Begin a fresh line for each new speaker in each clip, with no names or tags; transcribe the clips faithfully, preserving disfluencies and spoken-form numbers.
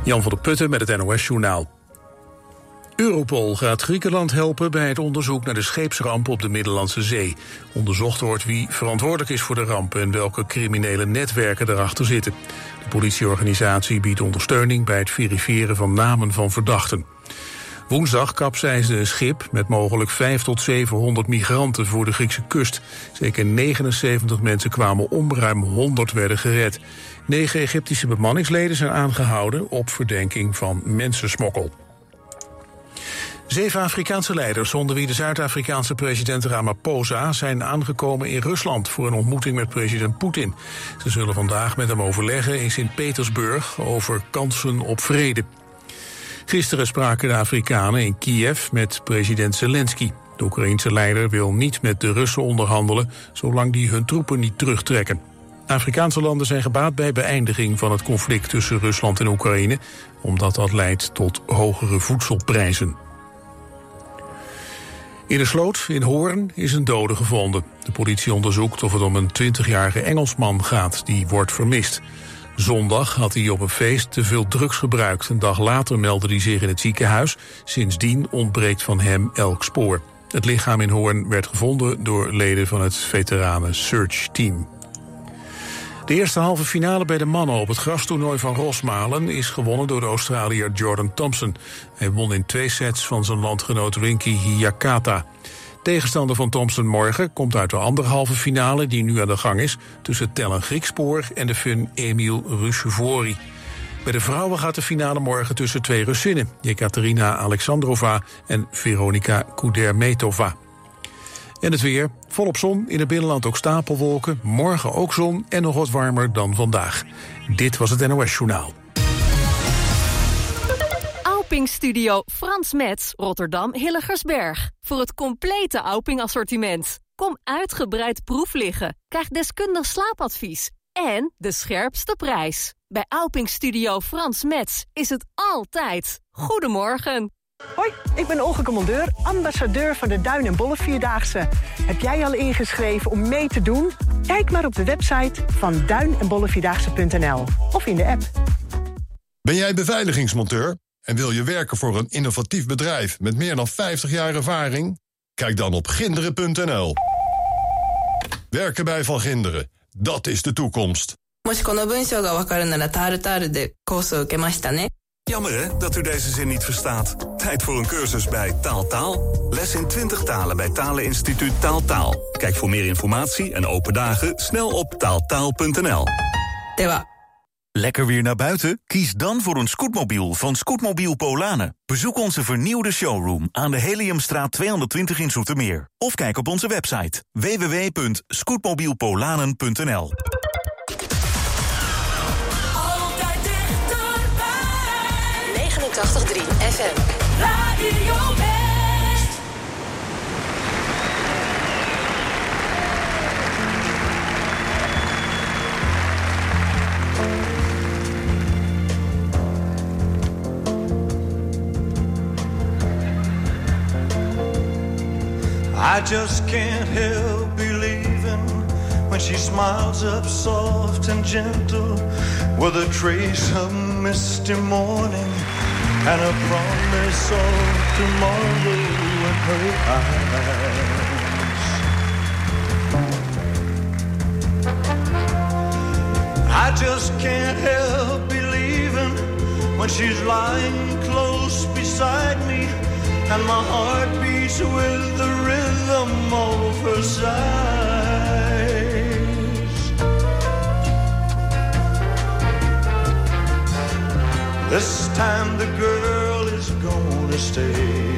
Jan van der Putten met het N O S-journaal. Europol gaat Griekenland helpen bij het onderzoek naar de scheepsramp op de Middellandse Zee. Onderzocht wordt wie verantwoordelijk is voor de ramp en welke criminele netwerken erachter zitten. De politieorganisatie biedt ondersteuning bij het verifiëren van namen van verdachten. Woensdag kapseisde een schip met mogelijk vijfhonderd tot zevenhonderd migranten voor de Griekse kust. Zeker negenenzeventig mensen kwamen om, ruim honderd werden gered. Negen Egyptische bemanningsleden zijn aangehouden op verdenking van mensensmokkel. Zeven Afrikaanse leiders, onder wie de Zuid-Afrikaanse president Ramaphosa, zijn aangekomen in Rusland voor een ontmoeting met president Poetin. Ze zullen vandaag met hem overleggen in Sint-Petersburg over kansen op vrede. Gisteren spraken de Afrikanen in Kiev met president Zelensky. De Oekraïense leider wil niet met de Russen onderhandelen, zolang die hun troepen niet terugtrekken. Afrikaanse landen zijn gebaat bij beëindiging van het conflict tussen Rusland en Oekraïne, omdat dat leidt tot hogere voedselprijzen. In een sloot in Hoorn is een dode gevonden. De politie onderzoekt of het om een twintigjarige Engelsman gaat die wordt vermist. Zondag had hij op een feest te veel drugs gebruikt. Een dag later meldde hij zich in het ziekenhuis. Sindsdien ontbreekt van hem elk spoor. Het lichaam in Hoorn werd gevonden door leden van het veteranen Search Team. De eerste halve finale bij de mannen op het grastoernooi van Rosmalen is gewonnen door de Australiër Jordan Thompson. Hij won in twee sets van zijn landgenoot Rinky Hiyakata. Tegenstander van Thompson morgen komt uit de andere halve finale die nu aan de gang is tussen Tellen Griekspoor en de Fun Emil Rushevori. Bij de vrouwen gaat de finale morgen tussen twee Russinnen, Jekaterina Alexandrova en Veronika Kudermetova. En het weer, volop zon, in het binnenland ook stapelwolken, morgen ook zon en nog wat warmer dan vandaag. Dit was het N O S-journaal.
Auping-studio Frans Metz, Rotterdam Hilligersberg. Voor het complete Auping-assortiment. Kom uitgebreid proef liggen, krijg deskundig slaapadvies en de scherpste prijs. Bij Auping-studio Frans Metz is het altijd. Goedemorgen.
Hoi, ik ben Olga Commandeur, ambassadeur van de Duin- en Bollevierdaagse. Heb jij al ingeschreven om mee te doen? Kijk maar op de website van duin en bollevierdaagse punt n l of in de app.
Ben jij beveiligingsmonteur en wil je werken voor een innovatief bedrijf met meer dan vijftig jaar ervaring? Kijk dan op ginderen punt n l. Werken bij Van Ginderen, dat is de toekomst.
Jammer hè, dat u deze zin niet verstaat. Tijd voor een cursus bij Taal Taal. Les in twintig talen bij Taleninstituut Taal Taal. Kijk voor meer informatie en open dagen snel op taaltaal punt n l.
Dewa. Lekker weer naar buiten? Kies dan voor een scootmobiel van Scootmobiel Polanen. Bezoek onze vernieuwde showroom aan de Heliumstraat tweehonderdtwintig in Zoetermeer. Of kijk op onze website w w w punt scootmobielpolanen punt n l.
negenentachtig komma drie F M.
Radio West.
I just can't help believing when she smiles up soft and gentle with a trace of misty morning and a promise of tomorrow in her eyes. I just can't help believing when she's lying close beside me and my heart beats with the rhythm of her sighs. This time the girl is gonna stay.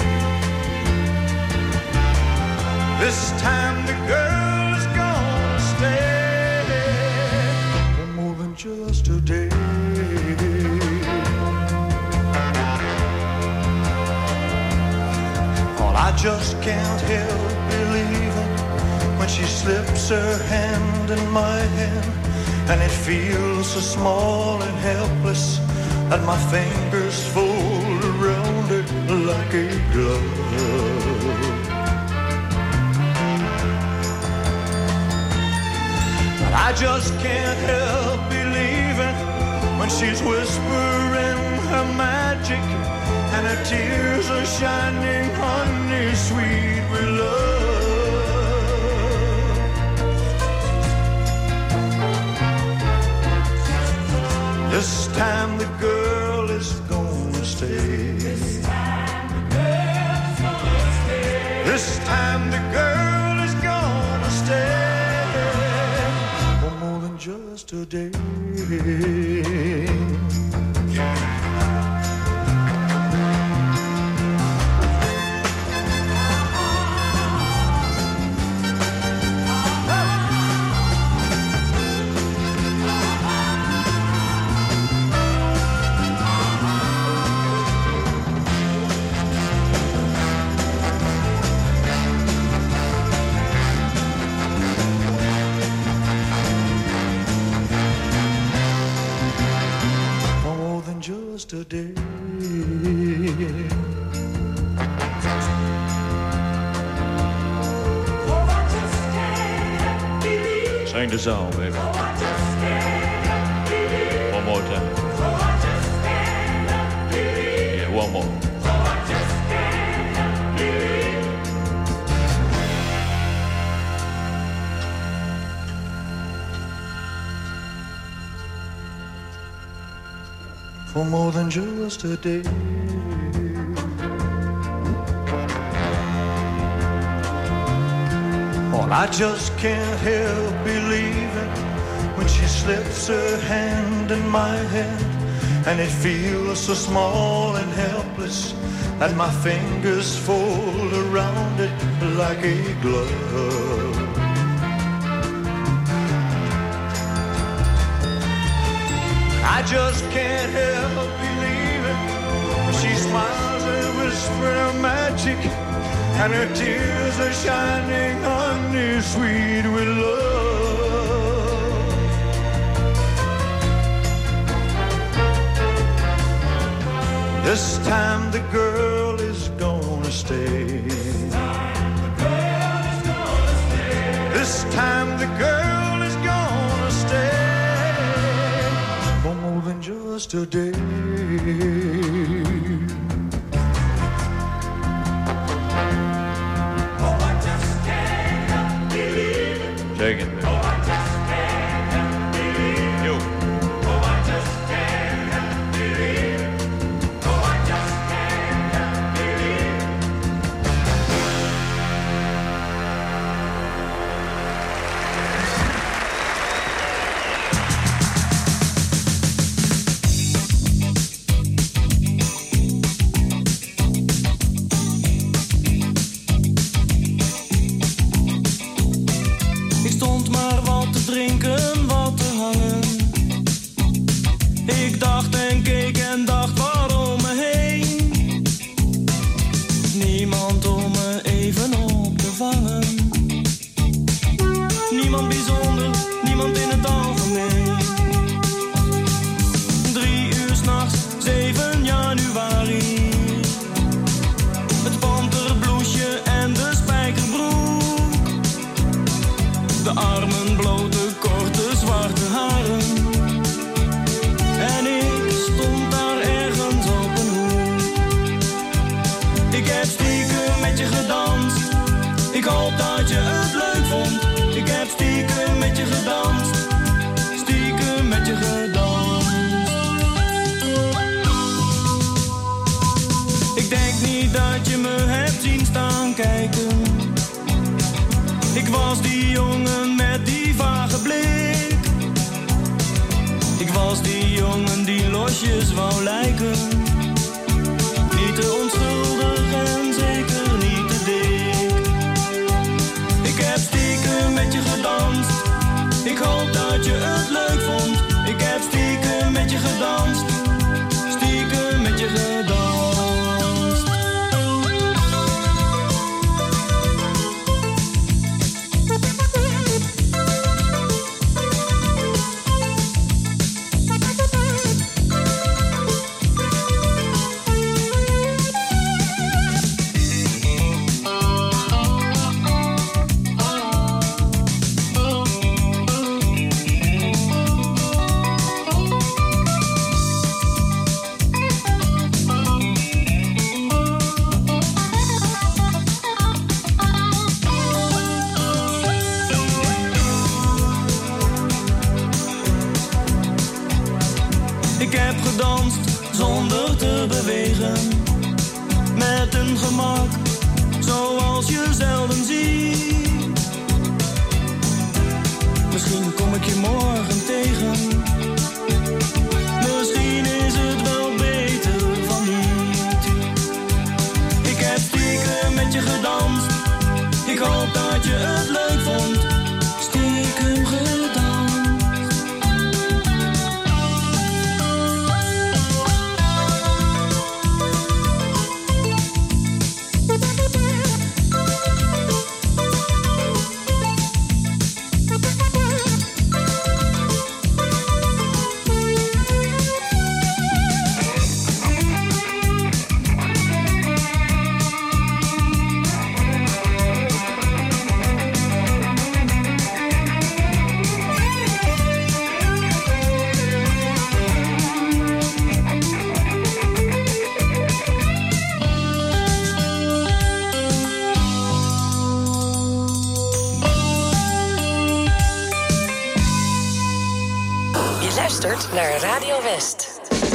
This time the girl is gonna stay. For more than just a day. I just can't help believing when she slips her hand in my hand and it feels so small and helpless that my fingers fold around it like a glove. But I just can't help believing when she's whispering her magic, and her tears are shining honey sweet with love. This time the girl is gonna stay. This time the girl is gonna stay. This time the girl is gonna stay for more than just a day. Today.
Sing the song, baby. One more time. Yeah, one more.
For more than just a day. Oh, I just can't help believing when she slips her hand in my hand, and it feels so small and helpless, and my fingers fold around it like a glove. I just can't help believing when she smiles and whispers her magic, and her tears are shining honey sweet with love. This time the girl is gonna stay. This time the girl is gonna stay for more than just a day.
Take it, baby. Oh, I just can't believe you. Oh, I just can't believe it. Oh, I just can't believe it.
Drinken, wat te hangen. Ik dacht en keek en dacht waarom me heen. Niemand om me even op te vangen. Niemand bijzonder, niemand in het algemeen. Drie uur 's nachts, zeven januari. Het panterbloesje en de spijkerbroek. De armen blote, korte, zwarte haren. En ik stond daar ergens op een hoek. Ik heb stiekem met je gedanst. Ik hoop dat je het leuk vond. Ik heb stiekem met je gedanst. Stiekem met je gedanst. Ik denk niet dat je me hebt zien staan kijken. Ik was die jongen met die vage blik. Ik was die jongen die losjes wou lijken. Niet te onschuldig en zeker niet te dik. Ik heb stiekem met je gedanst. Ik hoop dat je het leuk vond. Ik heb stiekem met je gedanst. Stiekem met je gedanst. Ik heb gedanst zonder te bewegen, met een gemak zoals je zelden ziet. Misschien kom ik je morgen tegen, misschien is het wel beter van niet. Ik heb stiekem met je gedanst, ik hoop dat je het leuk vond. Stiekem gedanst.
Naar Radio West.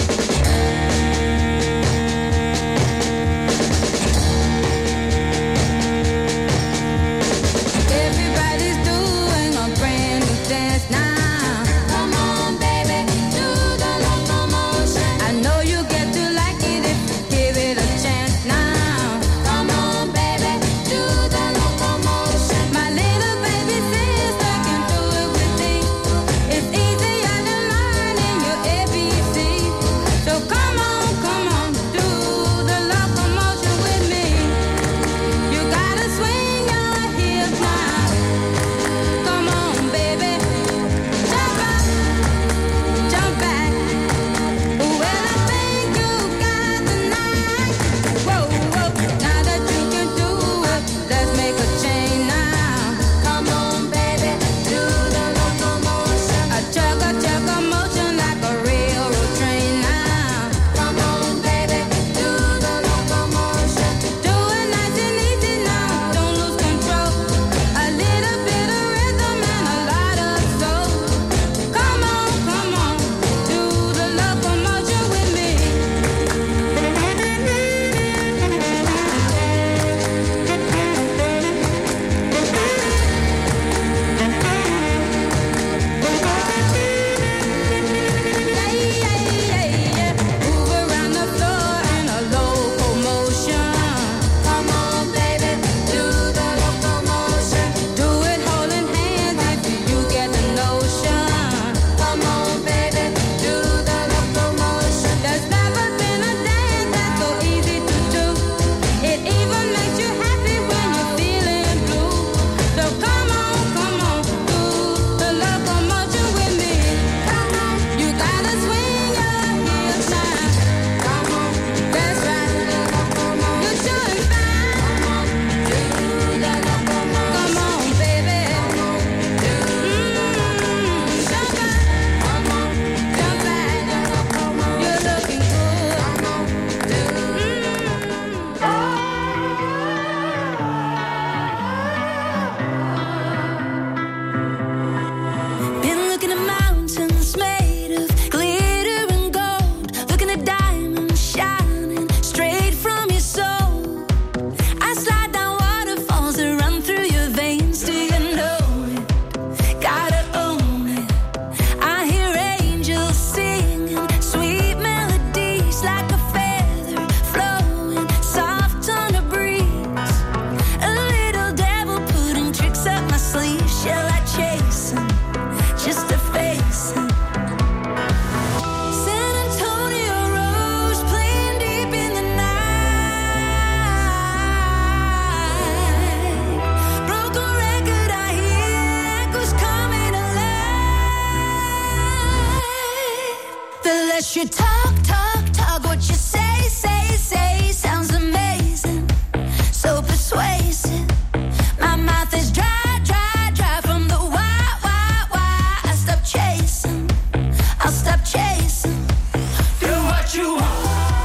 You talk, talk, talk, what you say, say, say sounds amazing, so persuasive. My mouth is dry, dry, dry from the why, why, why. I stop chasing, I'll stop chasing. Do what you want.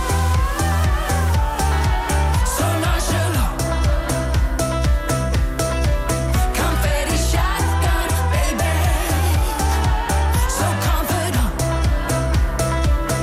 So nonchalant. Confetti shotgun, baby. So confident.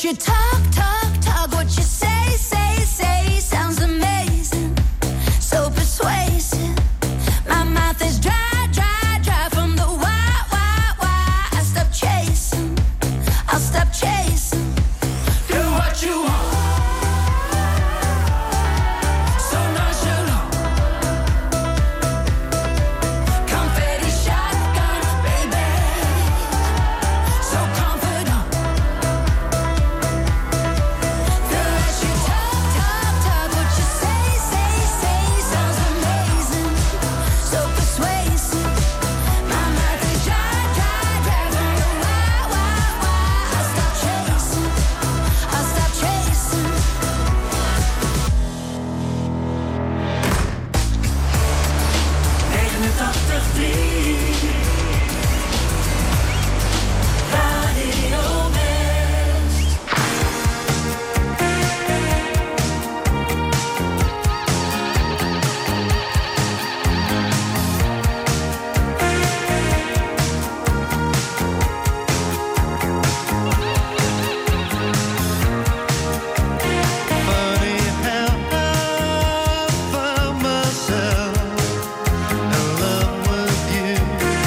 you talk, talk, talk. What you say, say, say sounds amazing, so persuasive. My mouth is dry, dry, dry from the why, why, why. I stop chasing, I'll stop chasing.
Do what you want. So nonchalant.
Confetti shotgun, baby. So confident. The less you talk, talk, talk. What you say, say, say sounds amazing, so persuasive. My mouth is dry, dry, dry from the why, why, why. I'll stop chasing, I'll stop chasing.
negenentachtig komma drie Radio West.
Funny how I found myself in love with you.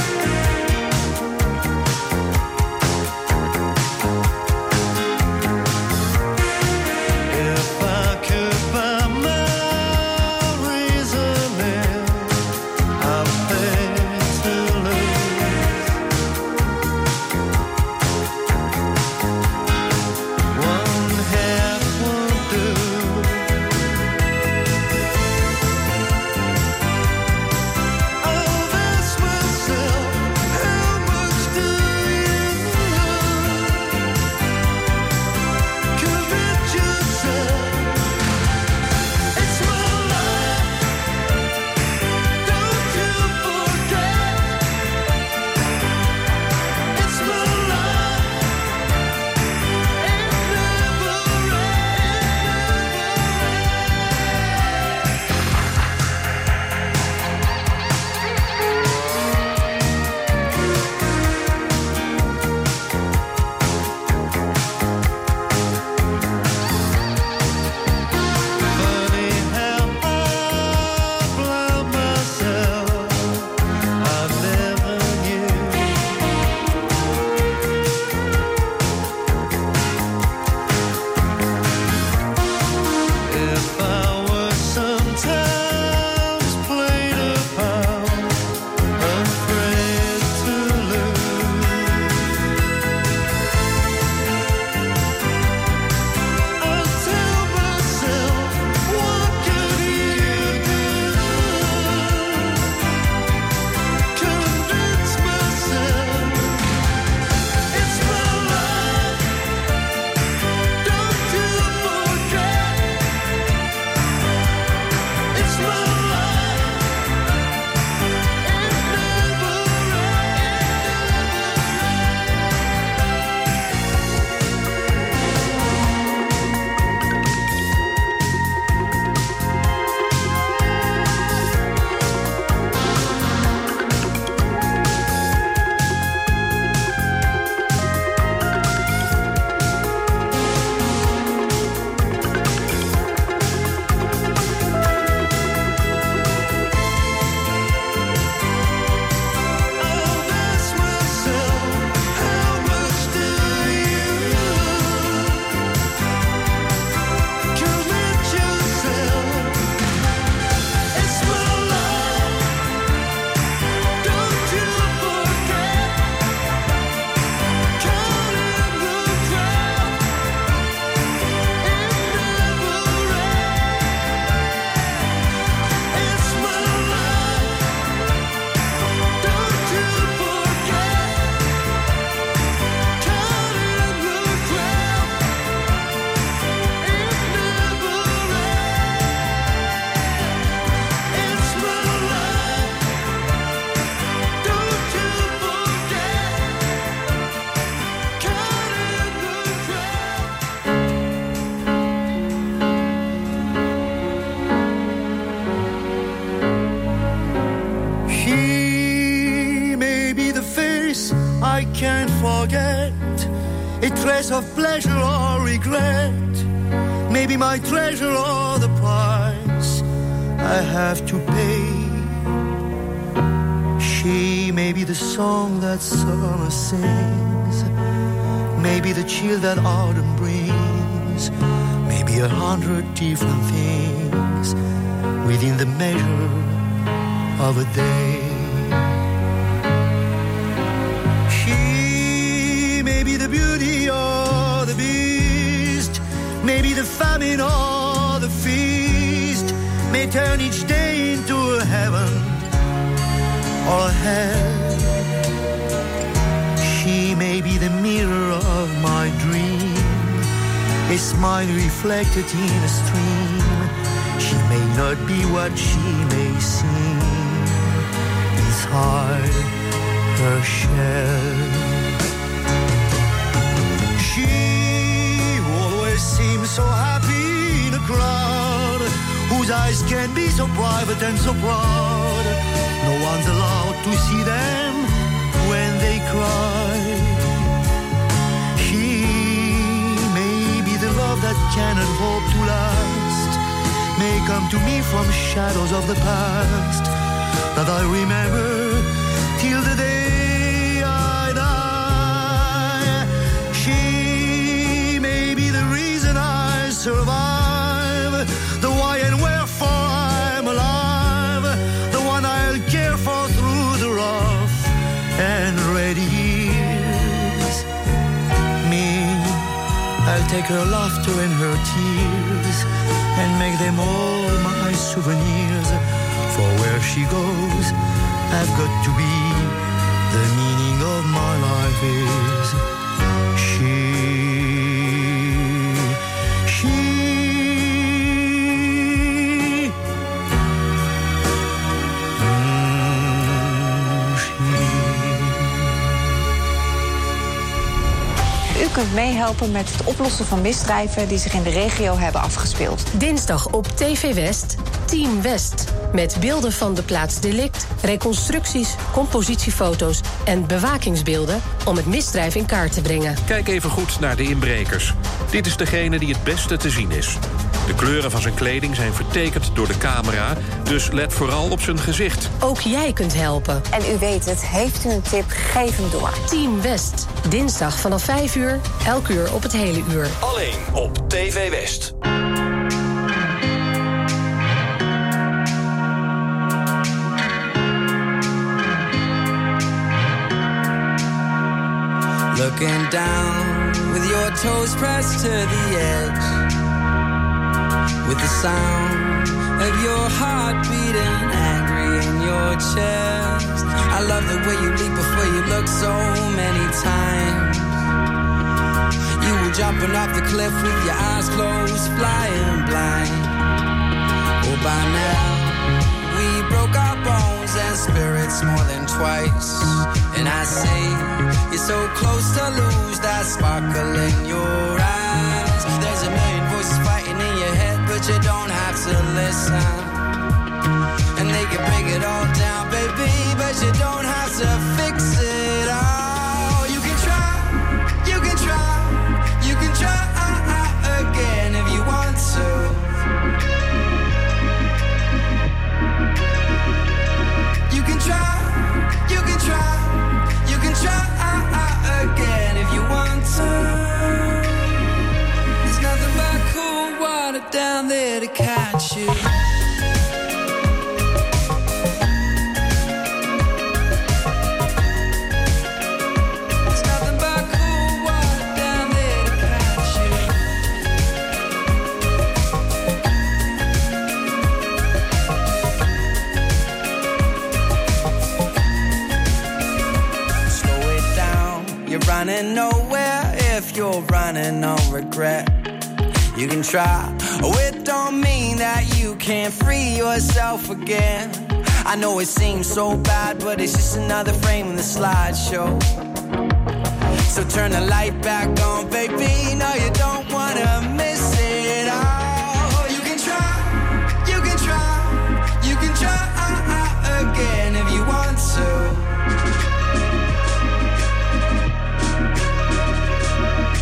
If I could find my reasoning, I'd pay to lose. One half won't do. I'll ask myself, how much do you commit yourself? It's my life, don't you forget. It's my life, it never Funny how I blind myself, I never knew. If I were sometimes played upon, afraid to lose, I'll tell myself, what could you do? Convince myself, it's my life, don't you forget. It's my life, it never I'll ask myself, how much do you commit yourself? It's my life, don't you forget. Caught in the crowd, it never ends. It's my life, don't you forget. Caught in the crowd, it never ends. It's my life, don't you forget. Caught in the crowd. He may be the face I can't forget.
a trace of pleasure or regret. Maybe my treasure or the price I have to pay. She may be the song that summer sings, maybe the chill that autumn brings, maybe a hundred different things within the measure of a day. She may be the beauty or the beast, maybe the famine or the feast, may turn each day into a heaven or a hell. She may be the mirror of my dream, a smile reflected in a stream. She may not be what she may seem inside her shell. She always seems so happy in a crowd, whose eyes can be so private and so proud. No one's allowed to see them when they cry. She may be the love that cannot hope to last, may come to me from shadows of the past that I remember till the day I die. She may be the reason I survive, the why and wherefore I'm alive, the one I'll care for through the rough and ready years. Me, I'll take her laughter and her tears and make them all my souvenirs. For where she goes, I've got to be. The meaning of my life is she. She.
U kunt meehelpen met het oplossen van misdrijven die zich in de regio hebben afgespeeld.
Dinsdag op T V West, Team West. Met beelden van de plaats delict, reconstructies, compositiefoto's en bewakingsbeelden om het misdrijf in kaart te brengen.
Kijk even goed naar de inbrekers. Dit is degene die het beste te zien is. De kleuren van zijn kleding zijn vertekend door de camera, dus let vooral op zijn gezicht.
Ook jij kunt helpen.
En u weet het, heeft u een tip, geef hem door.
Team West, dinsdag vanaf vijf uur, elk uur op het hele uur.
Alleen op T V West.
Looking down with your toes pressed to the edge, with the sound of your heart beating angry in your chest. I love the way you leap before you look so many times. You were jumping off the cliff with your eyes closed, flying blind. Oh, by now we broke our bones and spirits more than twice. And I say you're so close to lose that sparkle in your eyes. There's a million voices fighting in your head, but you don't have to listen. And they can break it all down, baby, but you don't have to fix it all. You can try, you can try, you can try again if you want to. You can try, you can try, you can try again if you want to. There's nothing but cool water down there to catch you. There's nothing but cool water down there to catch you. Slow it down, you're running nowhere if you're running on regret. You can try, oh, it don't mean that you can't free yourself again. I know it seems so bad, but it's just another frame in the slideshow. So turn the light back on, baby. No, you don't wanna miss it all. You can try, you can try, you can try again if you want to.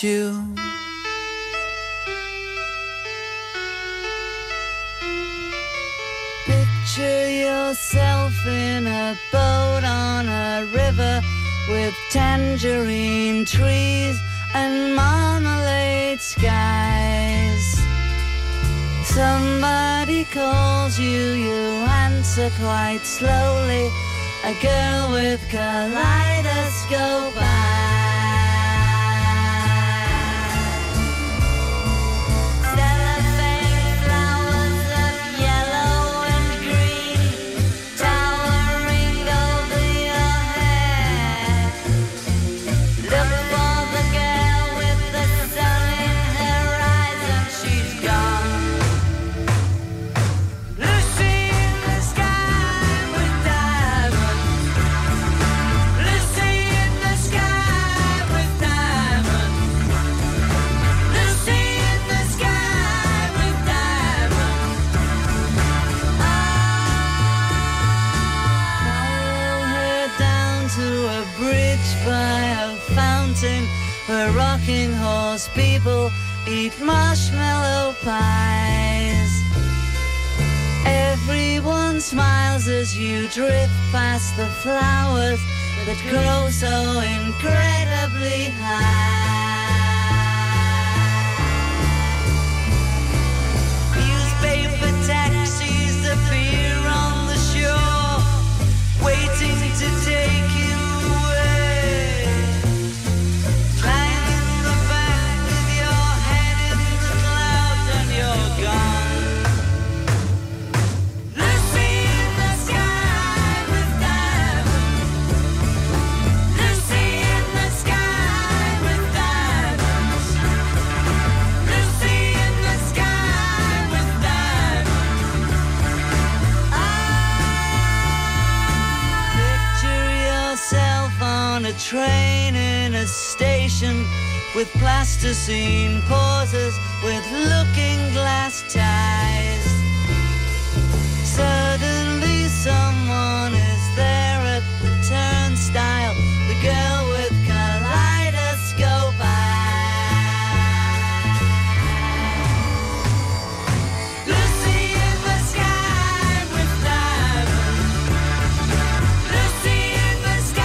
you. Picture yourself in a boat on a river with tangerine trees and marmalade skies. Somebody calls you, you answer quite slowly. A girl with kaleidoscope eyes. Where rocking horse people eat marshmallow pies. Everyone smiles as you drift past the flowers that grow so incredibly high. Newspaper taxis appear on the shore, waiting to take you away. A train in a station with plasticine pauses with looking glass ties. Suddenly someone is there at the turnstile, the girl with kaleidoscope eyes. Lucy in the sky with diamonds. Lucy in the sky.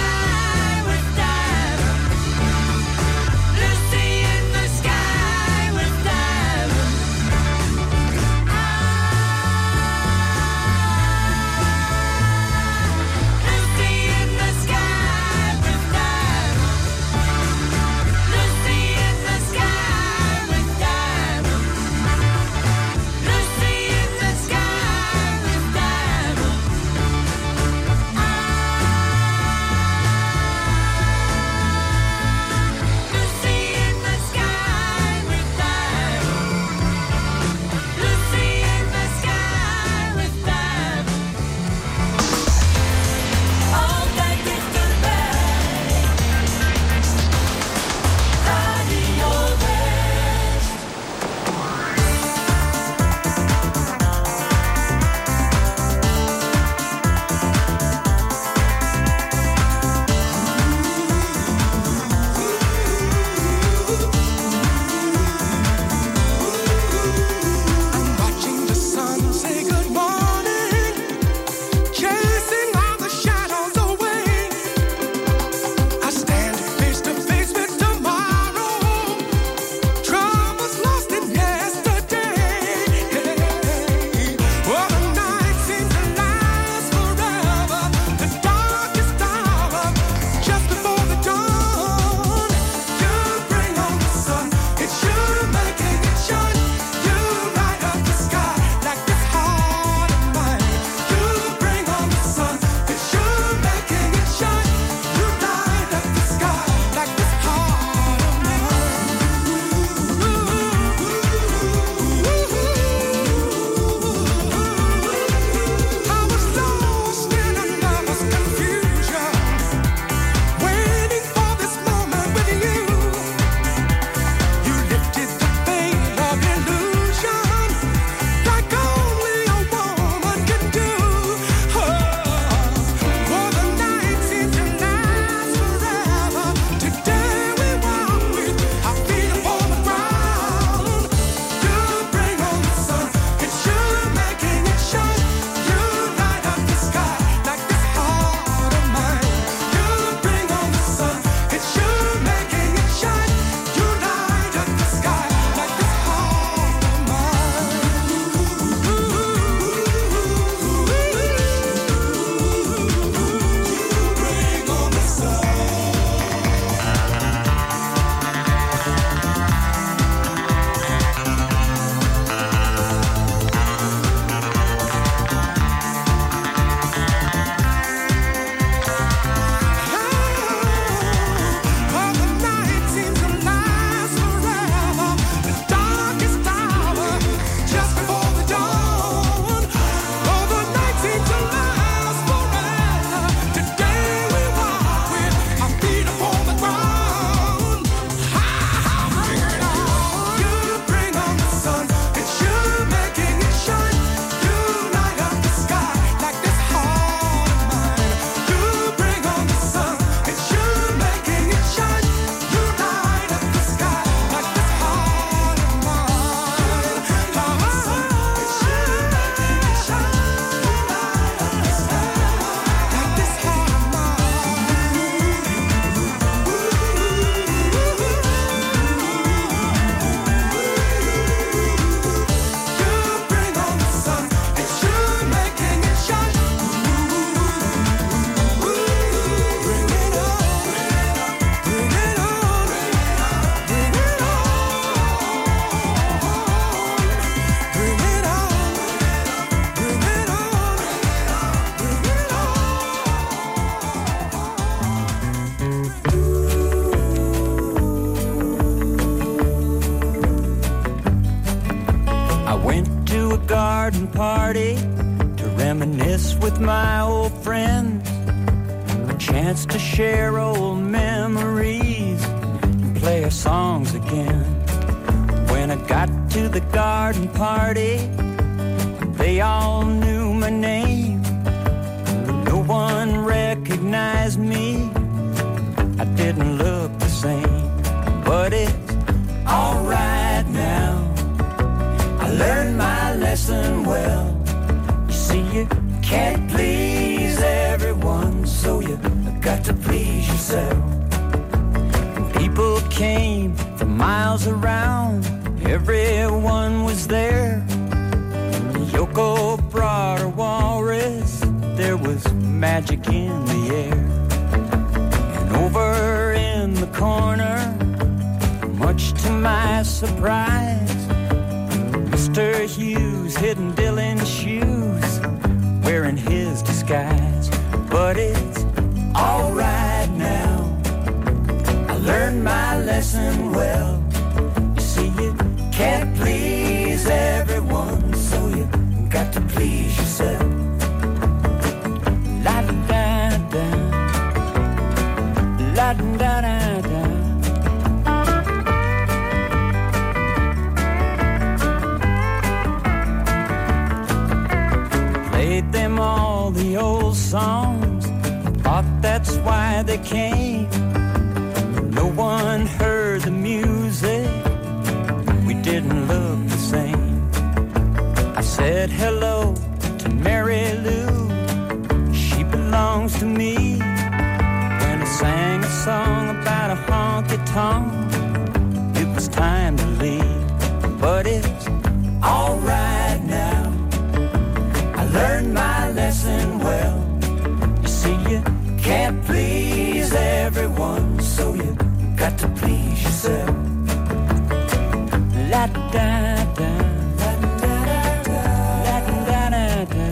garden party to reminisce with my old friends. A chance to share old memories and play our songs again. When I got to the garden party, they all knew my name. No one recognized me. I didn't look the same, but it's all right now. I learned my lesson well. You see, you can't please everyone, so you got to please yourself. And people came from miles around, everyone was there. Yoko brought her walrus, there was magic in the air. And over in the corner, much to my surprise, Mister Hughes hidden Dylan's shoes, wearing his disguise. But it's all right now. I learned my lesson well. You see, you can't please everyone, so you got to please yourself. La da da da, la da da da. Played them all the old songs, thought that's why they came. No one heard the music, we didn't look the same. I said hello to Mary Lou, she belongs to me. When I sang a song about a honky-tonk, it was time to leave. But it's all right now. I learned my lesson well. You see, you can't please everyone, so you got to please yourself. La da da, la da da, la da da da.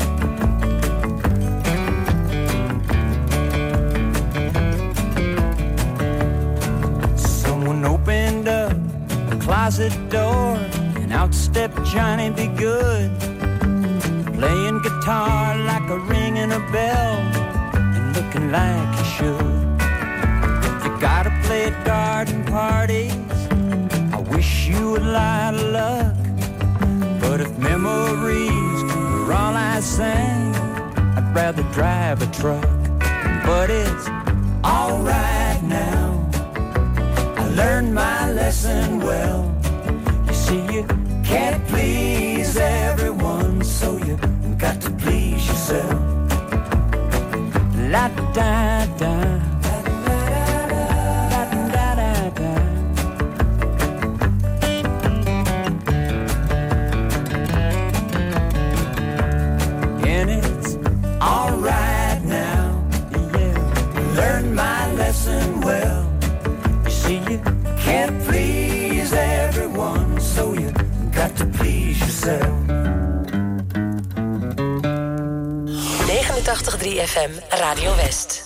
Someone opened up the closet door, and out stepped Johnny Be Good, playing guitar like a ring in a bell, and looking like he should. If you gotta play at garden parties, I wish you a lot of luck. But if memories were all I sang, I'd rather drive a truck. But it's all right now. I learned my lesson well. You see, you can't please everyone, so you got to please yourself. La da da, la da da da. And it's all right now, yeah. Learned my lesson well. You see, you can't please everyone, so you got to please yourself.
negenentachtig komma drie F M, Radio West.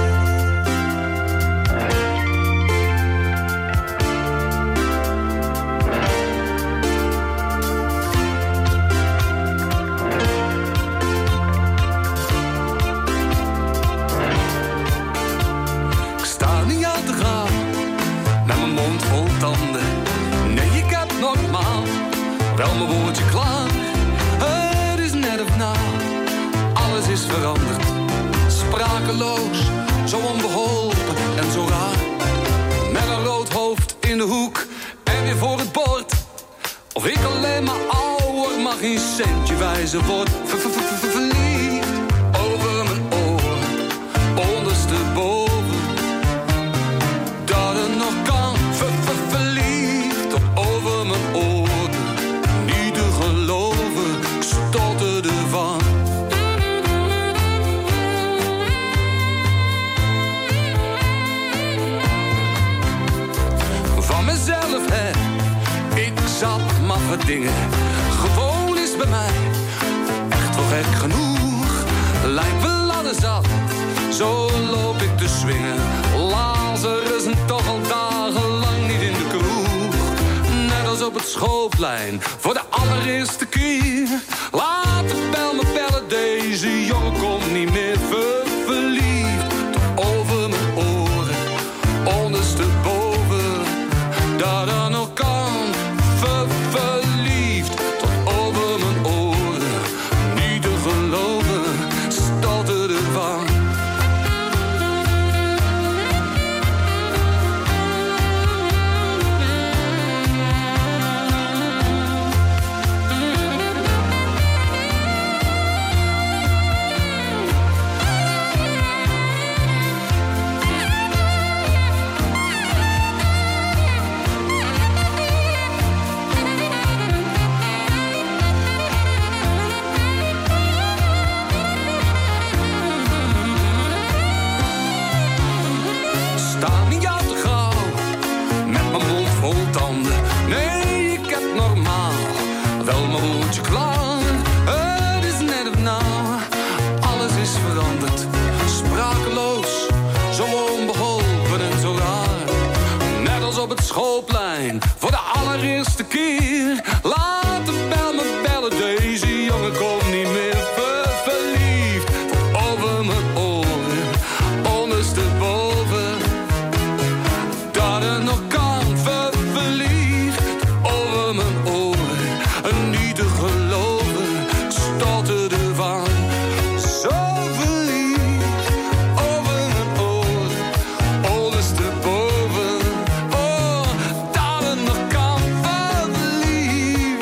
Ik sta niet aan te gaan, met mijn mond vol tanden. Nee, ik heb normaal wel mijn woordje klaar. Het is net of na, alles is veranderd. Sprakeloos, zo onbeholpen en zo raar. Met een rood hoofd in de hoek en weer voor het bord. Of ik alleen maar ouder, mag geen centje wijzen word. Verliefd over mijn oren, ondersteboven. Dat het nog kan, verliefd over mijn oren. Niet te geloven, ik stotterde van. Van mezelf, hè, ik zat maffe dingen. Gewoon is bij mij echt wel gek genoeg. Lijkt wel ladder zat, zo loop ik te swingen. Lazarus en toch al dagenlang niet in de kroeg. Net alsof op het schoolplein voor de allereerste keer. Laat de bel me bellen, deze jongen komt niet meer ver, verliefd. Tot over mijn oren, ondersteboven, dat dan nog kan, ver, verliefd. Tot over mijn oren, niet te geloven, stotterde ervan. Schoolplein voor de allereerste keer. Laat de bel me bellen, deze jongen komt niet meer ver, verliefd. Tot over mijn oren, ondersteboven, dat het nog kan, ver, verliefd. Over mijn oren, en niet te geloven, stotterde van. Zo verliefd, over mijn oren, ondersteboven.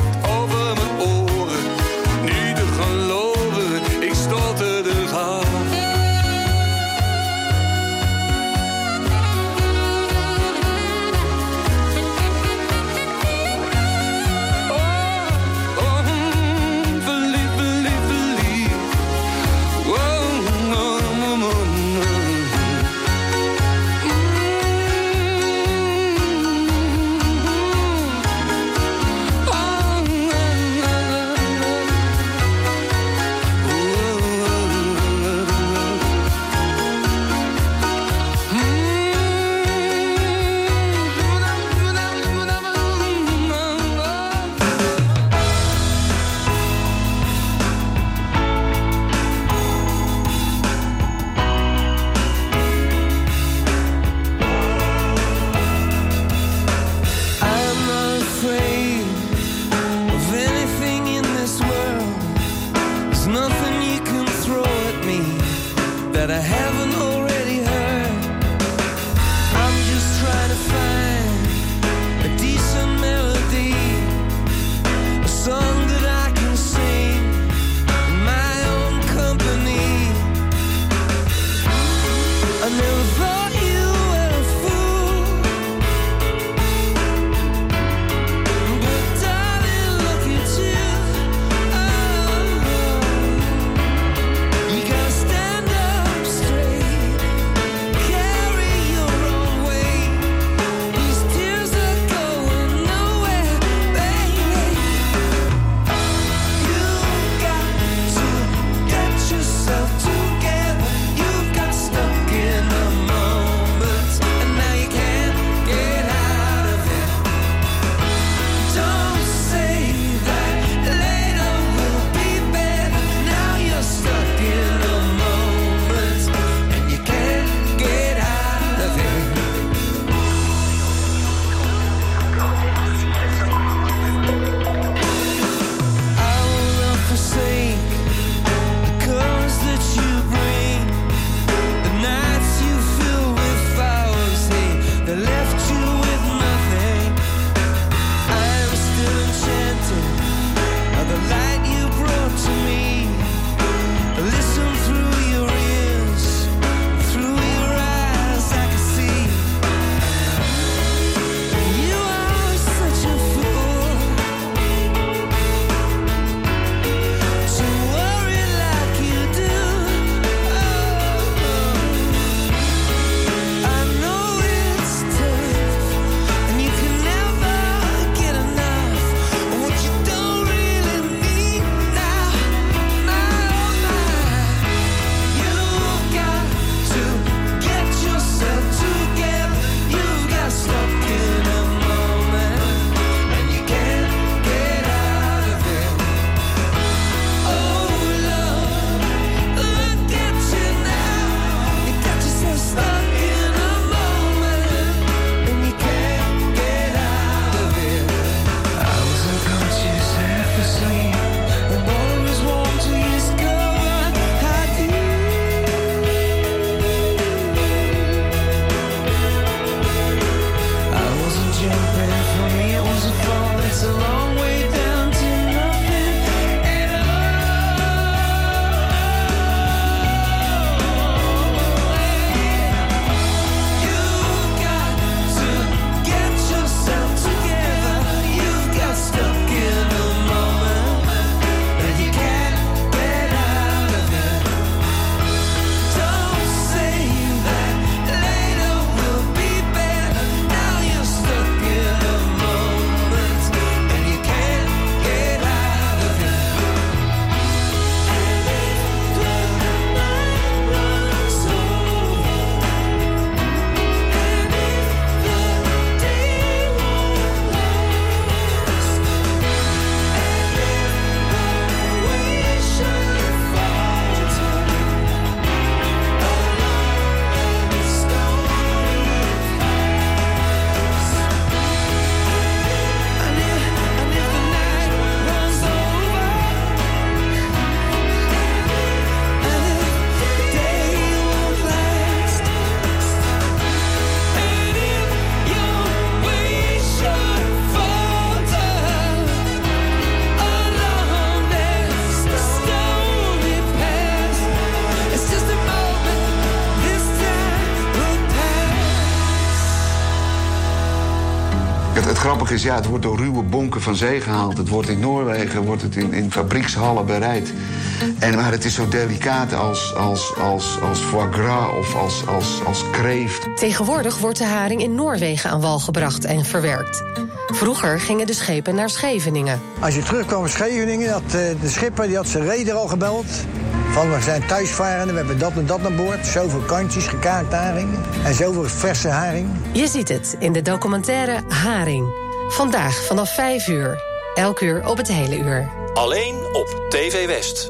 grappige is, ja, het wordt door ruwe bonken van zee gehaald. Het wordt in Noorwegen, wordt het in, in fabriekshallen bereid. En, maar het is zo delicaat als, als, als, als foie gras of als, als, als kreeft.
Tegenwoordig wordt de haring in Noorwegen aan wal gebracht en verwerkt. Vroeger gingen de schepen naar Scheveningen.
Als je terugkwam in Scheveningen, had de schipper die had zijn reder al gebeld. Van, we zijn thuisvarenden, we hebben dat en dat aan boord. Zoveel kantjes, gekaakt haring en zoveel verse haring.
Je ziet het in de documentaire Haring. Vandaag vanaf vijf uur. Elk uur op het hele uur.
Alleen op T V West.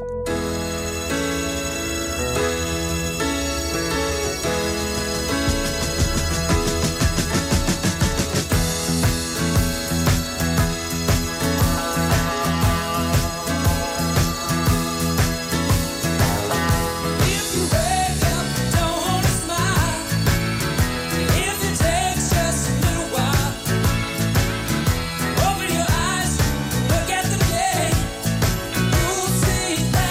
Open your eyes, look at the day. You'll see that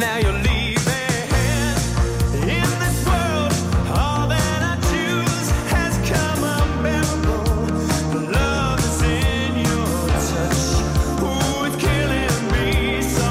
now you're leaving. In this world, all that I choose has come unbearable. The love is in your touch. Ooh, it's killing me so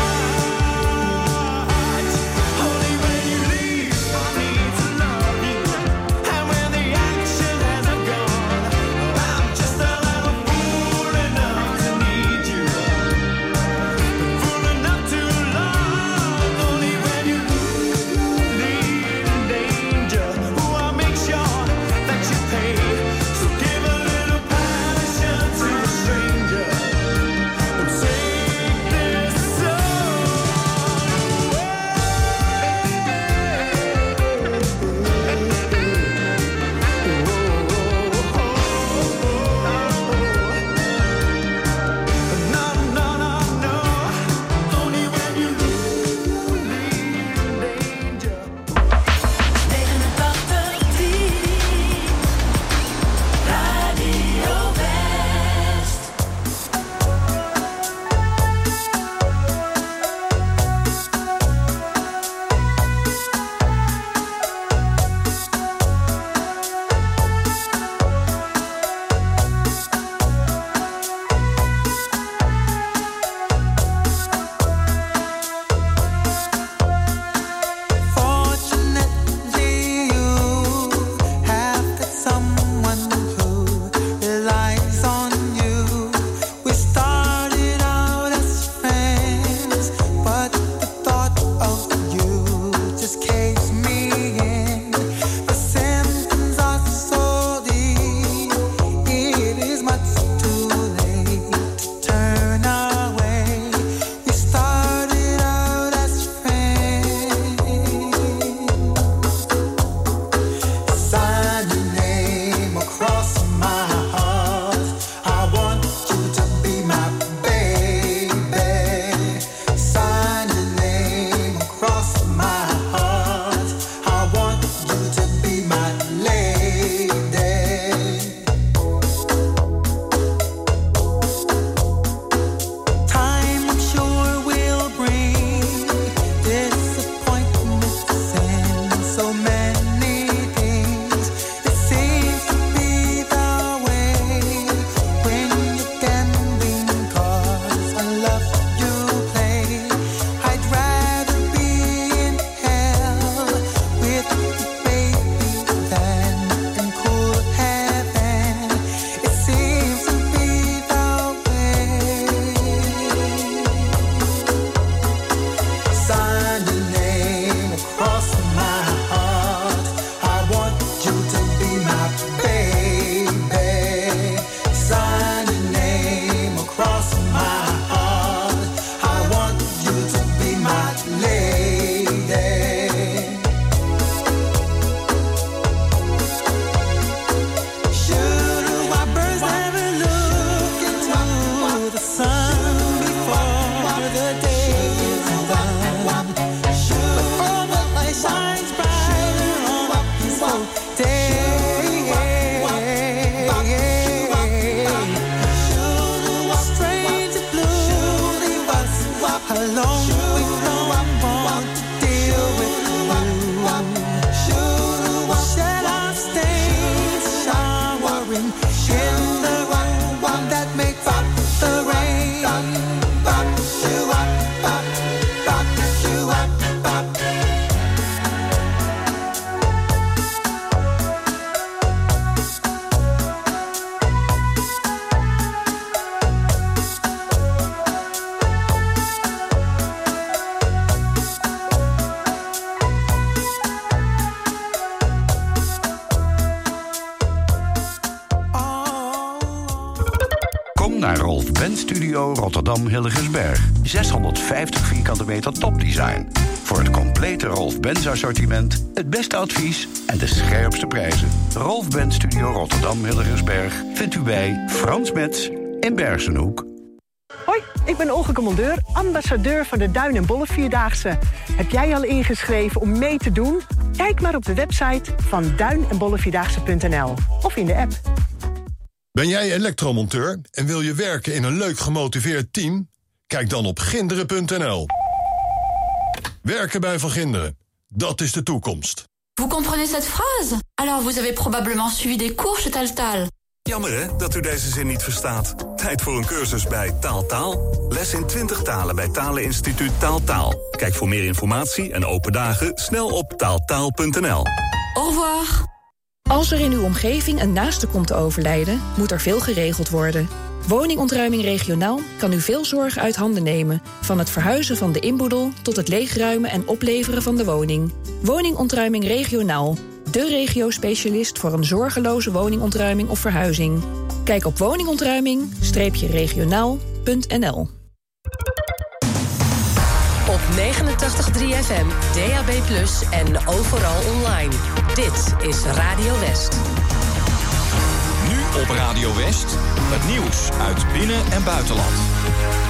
much. Only when you leave, I need to love you. And when the action hasn't gone, I'm just a little fool enough to need you. Fool enough to love. Only when you leave in danger. Ooh, I'll make sure that you pay. So give a little passion to a stranger. And take this No, no, no, no. Only when you leave in danger.
negenentachtig tien Radio West.
Fortunately, you have got someone who relies on you. We started out as friends, but the thought of you just caves me in. The symptoms are so deep, it is much too late to turn away. We started out as friends. Sign your name across my heart. I want you to be my baby. Sign your name across my heart. I want you to be my lady. Time, I'm sure, will bring disappointments and so many things. It seems to be the way when you can win, 'cause I love you play. I'd rather be in hell with you, baby, than in cool heaven. It seems to be the way. Sign your name across my heart. I want you to be my baby. Sign your name across my heart. I want you to be my lady. Should our birds never look into the sun before the day is done? Should all the light shines brighter on a peaceful day? Should a strange blue leave us alone? We don't want to deal with you. Should we shed our stains, showering in the one that makes up the rain? Bop, shoo, bop, bop, bop, shoo, bop, bop.
Kom naar Rolf Benz Studio Rotterdam Hillegersberg. zeshonderdvijftig vierkante meter topdesign. Voor het complete Rolf Benz assortiment, het beste advies en de scherpste prijzen. Rolf Benz Studio Rotterdam Hillegersberg vindt u bij Frans Metz in Bergenhoek.
Hoi, ik ben Olga Commandeur, ambassadeur van de Duin- en Bollevierdaagse. Heb jij al ingeschreven om mee te doen? Kijk maar op de website van duin en bollevierdaagse punt n l of in de app.
Ben jij elektromonteur en wil je werken in een leuk gemotiveerd team? Kijk dan op ginderen punt n l. Werken bij Van Ginderen, dat is de toekomst.
Vous comprenez cette phrase? Alors vous avez probablement suivi des cours chez Taltal.
Jammer hè, dat u deze zin niet verstaat. Tijd voor een cursus bij Taaltaal. Les in twintig talen bij Taleninstituut Taaltaal. Kijk voor meer informatie en open dagen snel op taaltaal punt n l.
Au revoir.
Als er in uw omgeving een naaste komt te overlijden, moet er veel geregeld worden. Woningontruiming regionaal kan u veel zorg uit handen nemen. Van het verhuizen van de inboedel tot het leegruimen en opleveren van de woning. Woningontruiming regionaal. De regio-specialist voor een zorgeloze woningontruiming of verhuizing. Kijk op woningontruiming regionaal punt n l.
Op negenentachtig komma drie F M, D A B plus, en overal online. Dit is Radio West.
Nu op Radio West, het nieuws uit binnen- en buitenland.